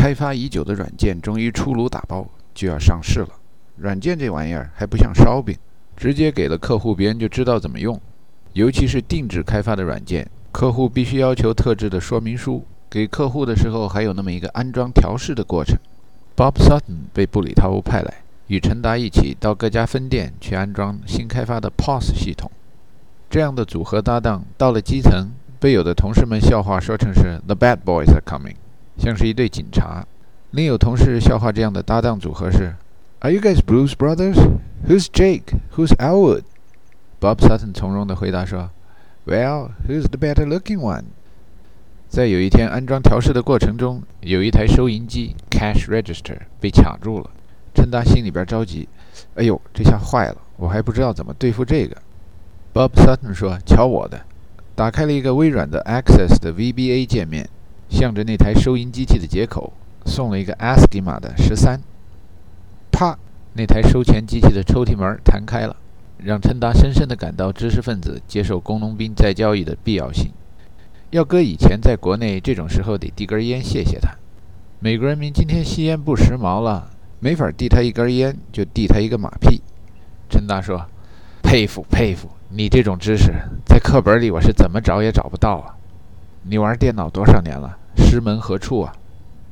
开发已久的软件终于出炉打包，就要上市了。软件这玩意儿还不像烧饼，直接给了客户，别人就知道怎么用。尤其是定制开发的软件，客户必须要求特制的说明书，给客户的时候还有那么一个安装调试的过程。Bob Sutton 被布里塔乌派来，与陈达一起到各家分店去安装新开发的 POS 系统。这样的组合搭档到了基层，被有的同事们笑话说成是 The Bad Boys are coming， 像是一队警察。另有同事笑话这样的搭档组合是 Are you guys Blues Brothers? Who's Jake? Who's Elwood? Bob Sutton 从容地回答说 Well, who's the better looking one? 在有一天安装调试的过程中，有一台收银机 Cash Register 被卡住了。陈达心里边着急，哎呦，这下坏了，我还不知道怎么对付这个。Bob Sutton 说，瞧我的，打开了一个微软的 Access 的 VBA 界面，向着那台收银机器的接口送了一个 ASCII 码的13。啪，那台收钱机器的抽屉门弹开了，让陈达深深地感到知识分子接受工农兵再教育的必要性。要搁以前在国内，这种时候得递根烟谢谢他。美国人民今天吸烟不时髦了，没法递他一根烟，就递他一个马屁。陈达说，佩服佩服，你这种知识在课本里我是怎么找也找不到啊。你玩电脑多少年了？师门何处啊？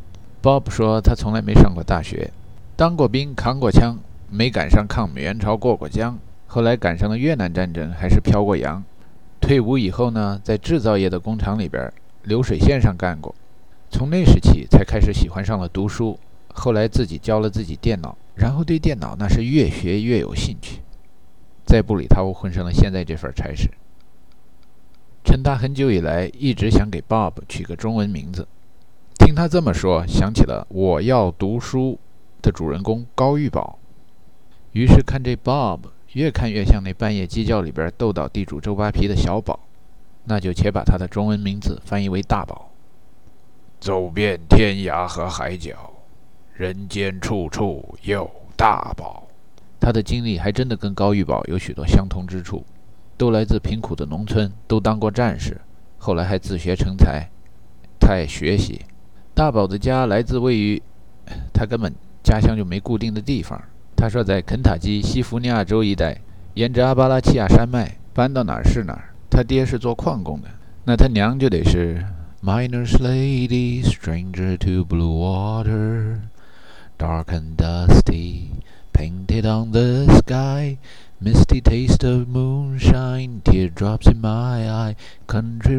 Bob 说他从来没上过大学，当过兵，扛过枪，没赶上抗美援朝过过江，后来赶上了越南战争，还是飘过洋。退伍以后呢，在制造业的工厂里边流水线上干过，从那时起才开始喜欢上了读书，后来自己教了自己电脑，然后对电脑那是越学越有兴趣，在布里塔乌混上了现在这份差事。陈达很久以来一直想给 Bob 取个中文名字，听他这么说，想起了我要读书的主人公高玉宝，于是看这 Bob越看越像那半夜鸡叫里边斗倒地主周扒皮的小宝，那就且把他的中文名字翻译为大宝。走遍天涯和海角，人间处处有大宝。他的经历还真的跟高玉宝有许多相同之处，都来自贫苦的农村，都当过战士，后来还自学成才。他爱学习。大宝的家来自位于他根本家乡就没固定的地方。他说在肯塔基西弗尼亚州一带，沿着阿巴拉契亚山脉搬到哪儿是哪儿。他爹是做矿工的，那他娘就得是 Miner's lady, stranger to blue water, dark and dusty, painted on the sky, misty taste of moonshine, teardrops in my eye, country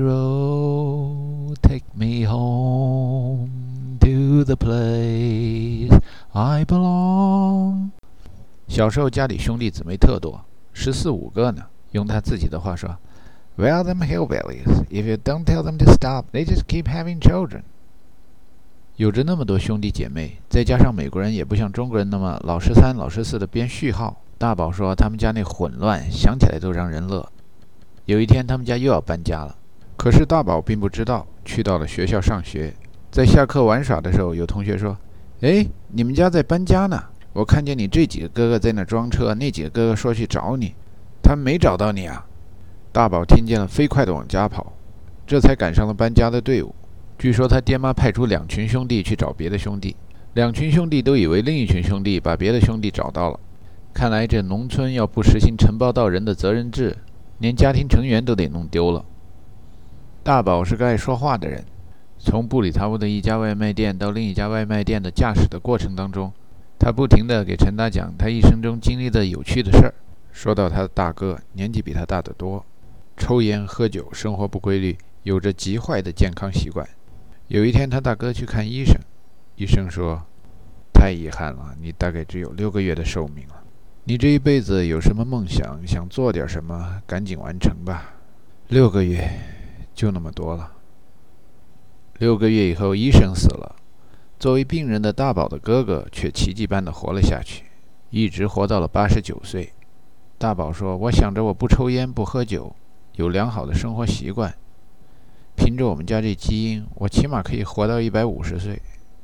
road, take me home to the place I belong。 小时候家里兄弟姊妹特多，14、15个呢。用他自己的话说 Well, them hillbillies, if you don't tell them to stop, they just keep having children。 有着那么多兄弟姐妹，再加上美国人也不像中国人那么老13、老14的编序号。大宝说他们家那混乱想起来都让人乐。有一天他们家又要搬家了，可是大宝并不知道，去到了学校上学。在下课玩耍的时候，有同学说，哎，你们家在搬家呢，我看见你这几个哥哥在那装车，那几个哥哥说去找你，他们没找到你啊。大宝听见了，飞快地往家跑，这才赶上了搬家的队伍。据说他爹妈派出2群兄弟去找别的兄弟，2群兄弟都以为另一群兄弟把别的兄弟找到了。看来这农村要不实行承包到人的责任制，连家庭成员都得弄丢了。大宝是个爱说话的人，从布里塔乌的一家外卖店到另一家外卖店的驾驶的过程当中，他不停地给陈达讲他一生中经历的有趣的事儿。说到他的大哥年纪比他大得多，抽烟喝酒，生活不规律，有着极坏的健康习惯。有一天他大哥去看医生，医生说，太遗憾了，你大概只有6个月的寿命了，你这一辈子有什么梦想，想做点什么，赶紧完成吧。6个月就那么多了。6个月以后医生死了，作为病人的大宝的哥哥却奇迹般的活了下去，一直活到了89岁。大宝说，我想着我不抽烟不喝酒，有良好的生活习惯，凭着我们家这基因，我起码可以活到150岁。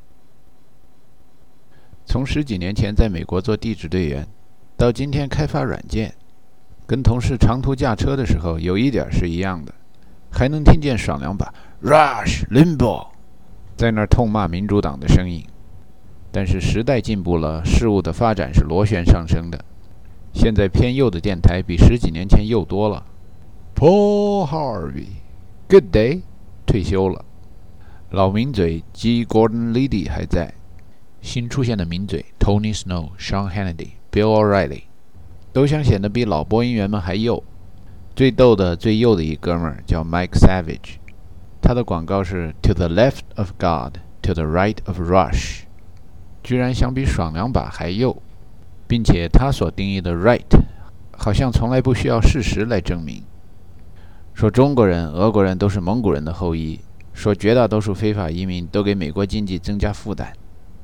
从10几年前在美国做地质队员，到今天开发软件，跟同事长途驾车的时候有一点是一样的，还能听见爽两把 Rush Limbaugh， 在那儿痛骂民主党的声音。但是时代进步了，事物的发展是螺旋上升的。现在偏右的电台比10几年前右多了。Paul Harvey，Good day， 退休了。老名嘴 G. Gordon Liddy 还在。新出现的名嘴 Tony Snow、Sean Hannity、Bill O'Reilly 都想显得比老播音员们还右。最逗的、最右的一哥们儿叫 Mike Savage， 他的广告是 To the left of God, to the right of Rush， 居然想比爽两把还右，并且他所定义的 right 好像从来不需要事实来证明。说中国人、俄国人都是蒙古人的后裔，说绝大多数非法移民都给美国经济增加负担。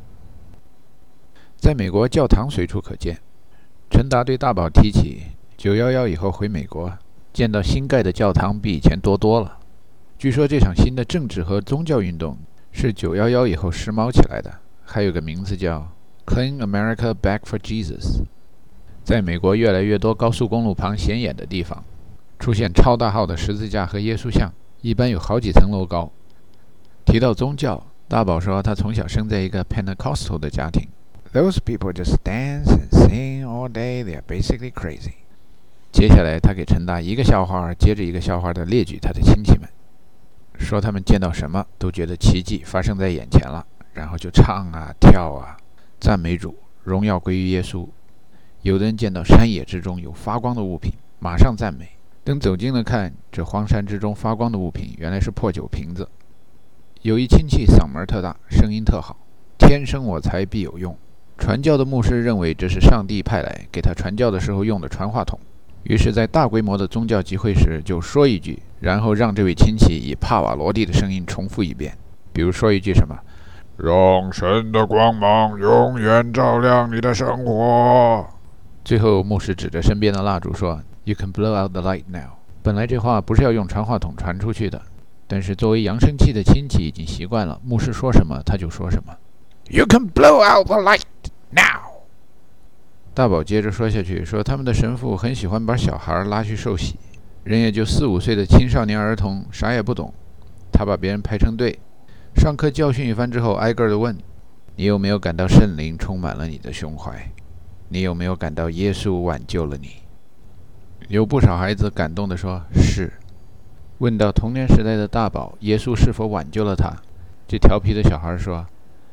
在美国，教堂随处可见。陈达对大宝提起911以后回美国，见到新盖的教堂比以前多了。据说这场新的政治和宗教运动是911以后时髦起来的，还有个名字叫 Clean America Back for Jesus。 在美国越来越多高速公路旁显眼的地方出现超大号的十字架和耶稣像，一般有好几层楼高。提到宗教，大宝说他从小生在一个 Pentecostal 的家庭。Those people just dance and sing all day. They are basically crazy. 接下来，他给陈达一个笑话接着一个笑话地列举他的亲戚们，说他们见到什么都觉得奇迹发生在眼前了，然后就唱啊跳啊，赞美主，荣耀归于耶稣。有的人见到山野之中有发光的物品，马上赞美。等走近了看，这荒山之中发光的物品原来是破酒瓶子。有一亲戚嗓门特大，声音特好，天生我材必有用。传教的牧师认为这是上帝派来给他传教的时候用的传话筒，于是在大规模的宗教集会时就说一句，然后让这位亲戚以帕瓦罗蒂的声音重复一遍。比如说一句什么，让神的光芒永远照亮你的生活。最后牧师指着身边的蜡烛说， You can blow out the light now。 本来这话不是要用传话筒传出去的，但是作为扬声器的亲戚已经习惯了，牧师说什么他就说什么。You can blow out the light now。 大宝接着说下去，说他们的神父很喜欢把小孩拉去受洗，人也就4、5岁的青少年儿童，啥也不懂。他把别人排成队，上课教训一番之后，挨个地问，你有没有感到圣灵充满了你的胸怀？你有没有感到耶稣挽救了你？有不少孩子感动地说是。问到童年时代的大宝，耶稣是否挽救了他？这调皮的小孩说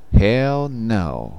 Hell no。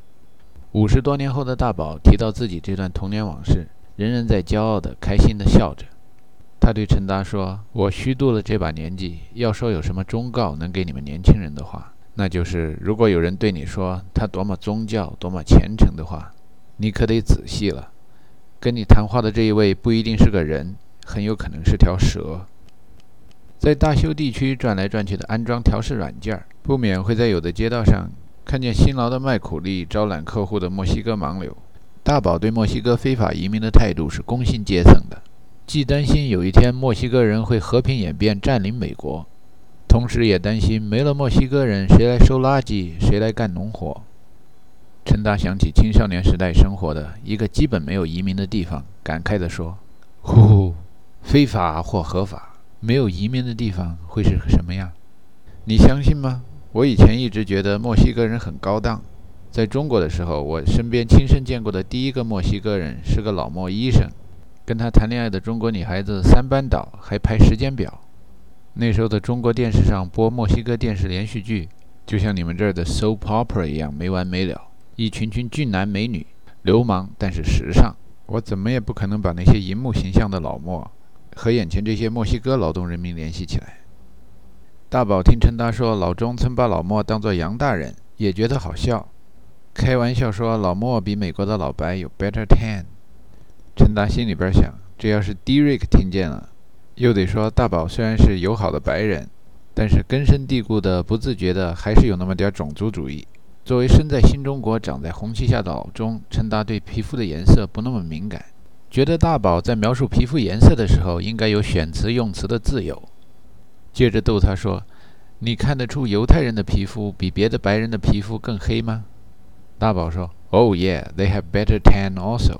50多年后的大宝提到自己这段童年往事，仍然在骄傲地开心地笑着。他对陈达说，我虚度了这把年纪，要说有什么忠告能给你们年轻人的话，那就是如果有人对你说他多么宗教多么虔诚的话，你可得仔细了。跟你谈话的这一位不一定是个人，很有可能是条蛇。在大修地区转来转去的安装调试软件，不免会在有的街道上看见辛劳的卖苦力招揽客户的墨西哥盲流。大宝对墨西哥非法移民的态度是工薪阶层的，既担心有一天墨西哥人会和平演变占领美国，同时也担心没了墨西哥人，谁来收垃圾，谁来干农活。陈达想起青少年时代生活的一个基本没有移民的地方，感慨地说，呼，非法或合法，没有移民的地方会是什么样？你相信吗？我以前一直觉得墨西哥人很高档。在中国的时候，我身边亲身见过的第一个墨西哥人是个老墨医生，跟他谈恋爱的中国女孩子3班倒，还排时间表。那时候的中国电视上播墨西哥电视连续剧，就像你们这儿的 soap opera 一样没完没了，一群群俊男美女，流氓但是时尚。我怎么也不可能把那些银幕形象的老墨和眼前这些墨西哥劳动人民联系起来。大宝听陈达说老钟曾把老莫当作洋大人，也觉得好笑，开玩笑说老莫比美国的老白有 better tan。 陈达心里边想，这要是 Derek 听见了，又得说大宝虽然是友好的白人，但是根深蒂固的不自觉的还是有那么点种族主义。作为身在新中国长在红旗下的老钟，陈达对皮肤的颜色不那么敏感，觉得大宝在描述皮肤颜色的时候应该有选词用词的自由。接着逗他说，你看得出犹太人的皮肤比别的白人的皮肤更黑吗？大宝说 Oh yeah, they have better tan also。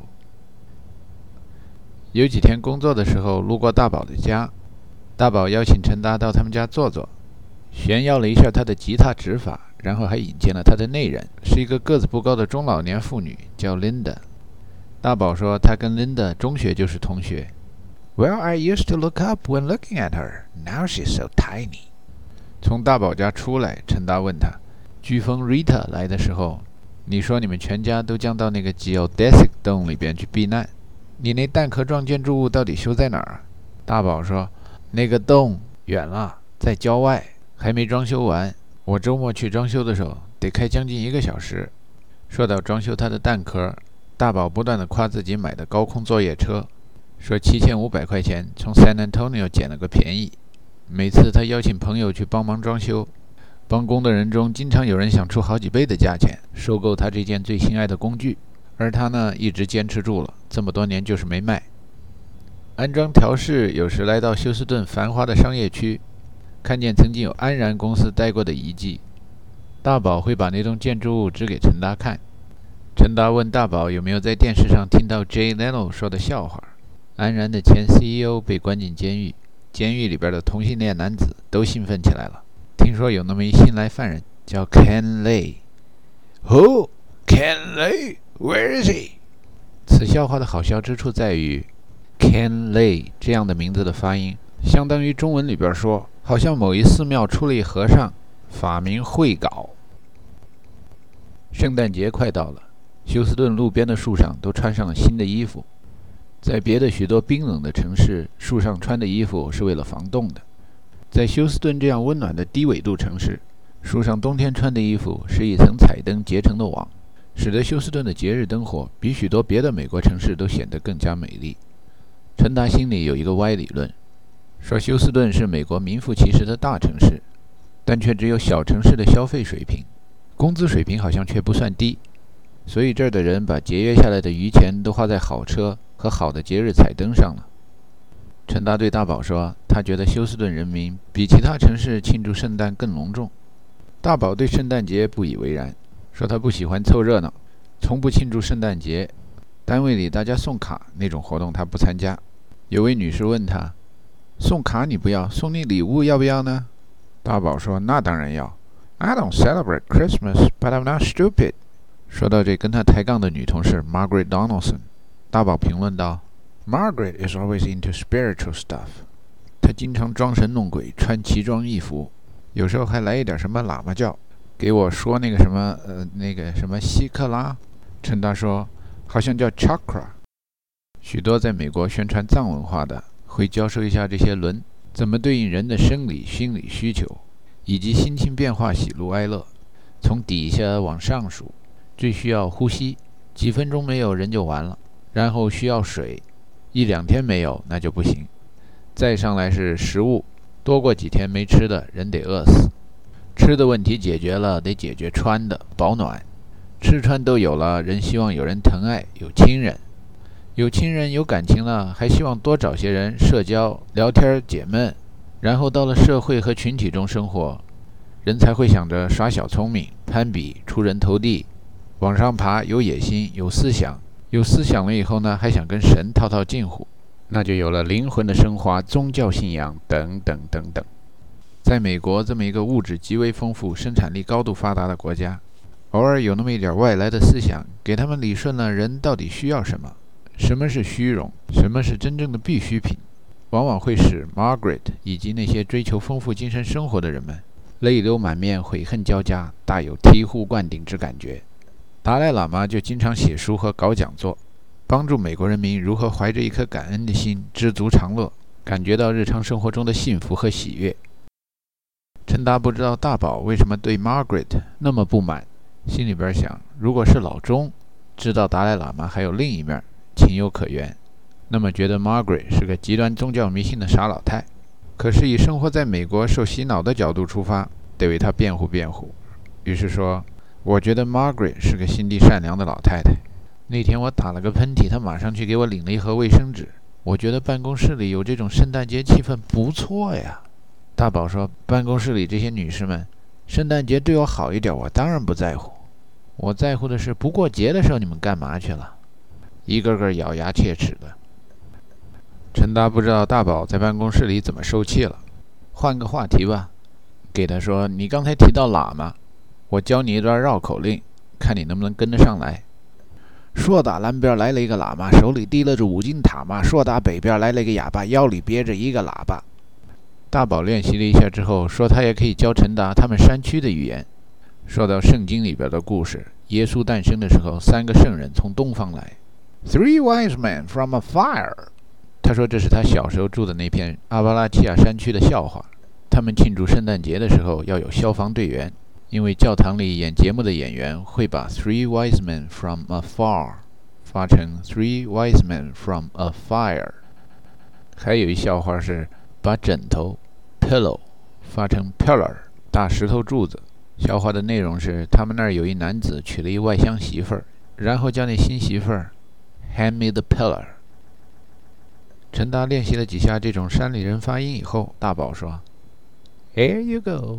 有几天工作的时候路过大宝的家，大宝邀请陈达到他们家坐坐， 炫耀了一下他的吉他指法，然后还引荐了他的内人，是一个个子不高的中老年妇女，叫 Linda。大宝说他跟 Linda 中学就是同学。Well, I used to look up when looking at her. Now she's so tiny. 从大宝家出来，陈达问他，飓风 Rita 来的时候，你说你们全家都将到那个 Geodesic Dome 里边去避难，你那蛋壳状建筑物到底修在哪儿？大宝说，那个洞远了，在郊外，还没装修完。我周末去装修的时候，得开将近1个小时。说到装修他的蛋壳，大宝不断地夸自己买的高空作业车，说7500块钱从 San Antonio 捡了个便宜。每次他邀请朋友去帮忙装修，帮工的人中经常有人想出好几倍的价钱收购他这件最心爱的工具，而他呢一直坚持住了，这么多年就是没卖。安装调试有时来到休斯顿繁华的商业区，看见曾经有安然公司待过的遗迹，大宝会把那栋建筑物指给陈达看。陈达问大宝有没有在电视上听到 Jay Leno 说的笑话，安然的前 CEO 被关进监狱，监狱里边的同性恋男子都兴奋起来了。听说有那么一新来犯人叫 Ken Lay。Who? Ken Lay? Where is he? 此笑话的好笑之处在于 Ken Lay 这样的名字的发音，相当于中文里边说，好像某一寺庙出了一和尚，法名慧镐。圣诞节快到了，休斯顿路边的树上都穿上了新的衣服。在别的许多冰冷的城市，树上穿的衣服是为了防冻的。在休斯顿这样温暖的低纬度城市，树上冬天穿的衣服是一层彩灯结成的网，使得休斯顿的节日灯火比许多别的美国城市都显得更加美丽。陈达心里有一个歪理论，说休斯顿是美国名副其实的大城市，但却只有小城市的消费水平，工资水平好像却不算低，所以这儿的人把节约下来的余钱都花在好车和好的节日彩灯上了。陈达对大宝说，他觉得休斯顿人民比其他城市庆祝圣诞更隆重。大宝对圣诞节不以为然，说他不喜欢凑热闹，从不庆祝圣诞节，单位里大家送卡那种活动他不参加。有位女士问他，送卡你不要，送你礼物要不要呢？大宝说，那当然要。I don't celebrate Christmas, but I'm not stupid. 说到这跟他抬杠的女同事 Margaret Donaldson， 大宝评论道， Margaret is always into spiritual stuff. 她经常装神弄鬼，穿奇装异服，有时候还来一点什么喇嘛教，给我说那个什么希克拉。陈达说，好像叫 chakra。 许多在美国宣传藏文化的会教授一下这些轮怎么对应人的生理心理需求，以及心情变化喜怒哀乐，从底下往上数，最需要呼吸，几分钟没有人就完了，然后需要水，1-2天没有那就不行，再上来是食物，多过几天没吃的人得饿死，吃的问题解决了，得解决穿的保暖，吃穿都有了，人希望有人疼爱，有亲人，有亲人有感情了，还希望多找些人社交聊天解闷，然后到了社会和群体中生活，人才会想着耍小聪明，攀比，出人头地，往上爬，有野心，有思想，有思想了以后呢，还想跟神套套近乎，那就有了灵魂的升华，宗教信仰等等等等。在美国这么一个物质极为丰富、生产力高度发达的国家，偶尔有那么一点外来的思想，给他们理顺了人到底需要什么，什么是虚荣，什么是真正的必需品，往往会使 Margaret 以及那些追求丰富精神生活的人们泪流满面，悔恨交加，大有醍醐灌顶之感觉。达赖喇嘛就经常写书和搞讲座，帮助美国人民如何怀着一颗感恩的心，知足常乐，感觉到日常生活中的幸福和喜悦。陈达不知道大宝为什么对 Margaret 那么不满，心里边想，如果是老钟知道达赖喇嘛还有另一面，情有可原，那么觉得 Margaret 是个极端宗教迷信的傻老太。可是以生活在美国受洗脑的角度出发，得为他辩护辩护。于是说，我觉得 Margaret 是个心地善良的老太太。那天我打了个喷嚏，她马上去给我领了一盒卫生纸。我觉得办公室里有这种圣诞节气氛不错呀。大宝说，办公室里这些女士们，圣诞节对我好一点，我当然不在乎。我在乎的是不过节的时候你们干嘛去了？一个个咬牙切齿的。陈达不知道大宝在办公室里怎么受气了，换个话题吧。 给他说：“你刚才提到喇嘛，我教你一段绕口令，看你能不能跟得上来。说打南边来了一个喇嘛，手里提了着5斤塔嘛；说打北边来了一个哑巴，腰里别着一个喇叭。”大宝练习了一下之后，说他也可以教陈达他们山区的语言。说到圣经里边的故事，耶稣诞生的时候，3个圣人从东方来 ，Three wise men from a fire。他说这是他小时候住的那片阿巴拉契亚山区的笑话。他们庆祝圣诞节的时候要有消防队员，因为教堂里演节目的演员会把 Three wise men from afar 发成 Three wise men from a fire。还有一笑话是把枕头 pillow 发成 pillar 大石头柱子。笑话的内容是他们那儿有一男子娶了一外乡媳妇儿，然后叫那新媳妇儿 hand me the pillar。陈达练习了几下这种山里人发音以后，大宝说 Here you go，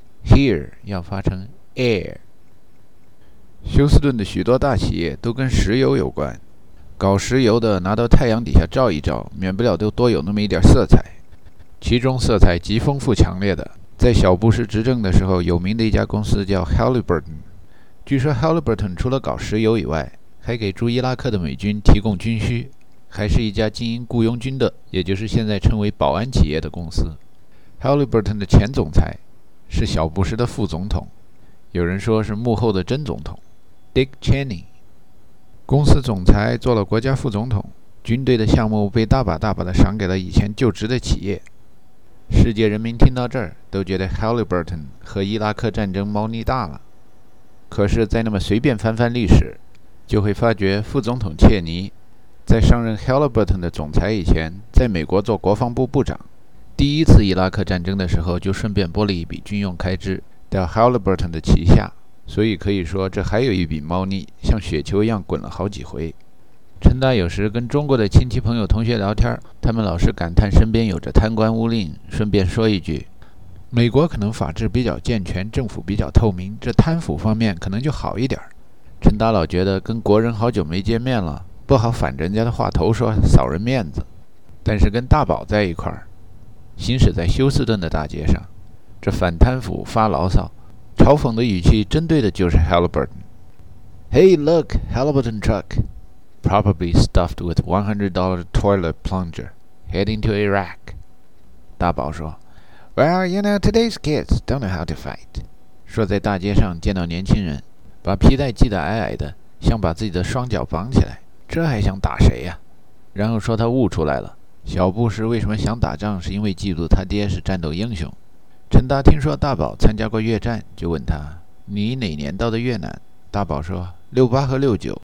Here 要发成 air。 休斯顿的许多大企业都跟石油有关，搞石油的拿到太阳底下照一照，免不了都多有那么一点色彩，其中色彩极丰富强烈的，在小布什执政的时候有名的一家公司叫 Halliburton。 据说 Halliburton 除了搞石油以外，还给驻伊拉克的美军提供军需，还是一家经营雇佣军的，也就是现在称为保安企业的公司。 Halliburton 的前总裁是小布什的副总统，有人说是幕后的真总统 Dick Cheney。 公司总裁做了国家副总统，军队的项目被大把大把的赏给了以前就职的企业。世界人民听到这儿都觉得 Halliburton 和伊拉克战争猫腻大了，可是再那么随便翻翻历史，就会发觉副总统切尼在上任 Halliburton 的总裁以前，在美国做国防部部长。第一次伊拉克战争的时候，就顺便拨了一笔军用开支到 Halliburton 的旗下，所以可以说这还有一笔猫腻，像雪球一样滚了好几回。陈达有时跟中国的亲戚朋友同学聊天，他们老是感叹身边有着贪官污吏，顺便说一句，美国可能法治比较健全，政府比较透明，这贪腐方面可能就好一点。陈达老觉得跟国人好久没见面了，不好反着人家的话头说，扫人面子。但是跟大宝在一块儿，行驶在休斯顿的大街上，这反贪腐发牢骚，嘲讽的语气针对的就是 Halliburton。 Hey look, Halliburton truck probably stuffed with $100 toilet plunger heading to Iraq。 大宝说 Well, you know, today's kids don't know how to fight。 说在大街上见到年轻人把皮带系得矮矮的，想把自己的双脚绑起来，这还想打谁呀？然后说他悟出来了，小布什为什么想打仗，是因为嫉妒他爹是战斗英雄。陈达听说大宝参加过越战，就问他，你哪年到的越南？大宝说68和69。